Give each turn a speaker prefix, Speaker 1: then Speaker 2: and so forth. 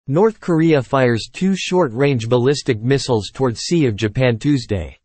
Speaker 1: North Korea fires 2 short-range ballistic missiles toward Sea of Japan Tuesday.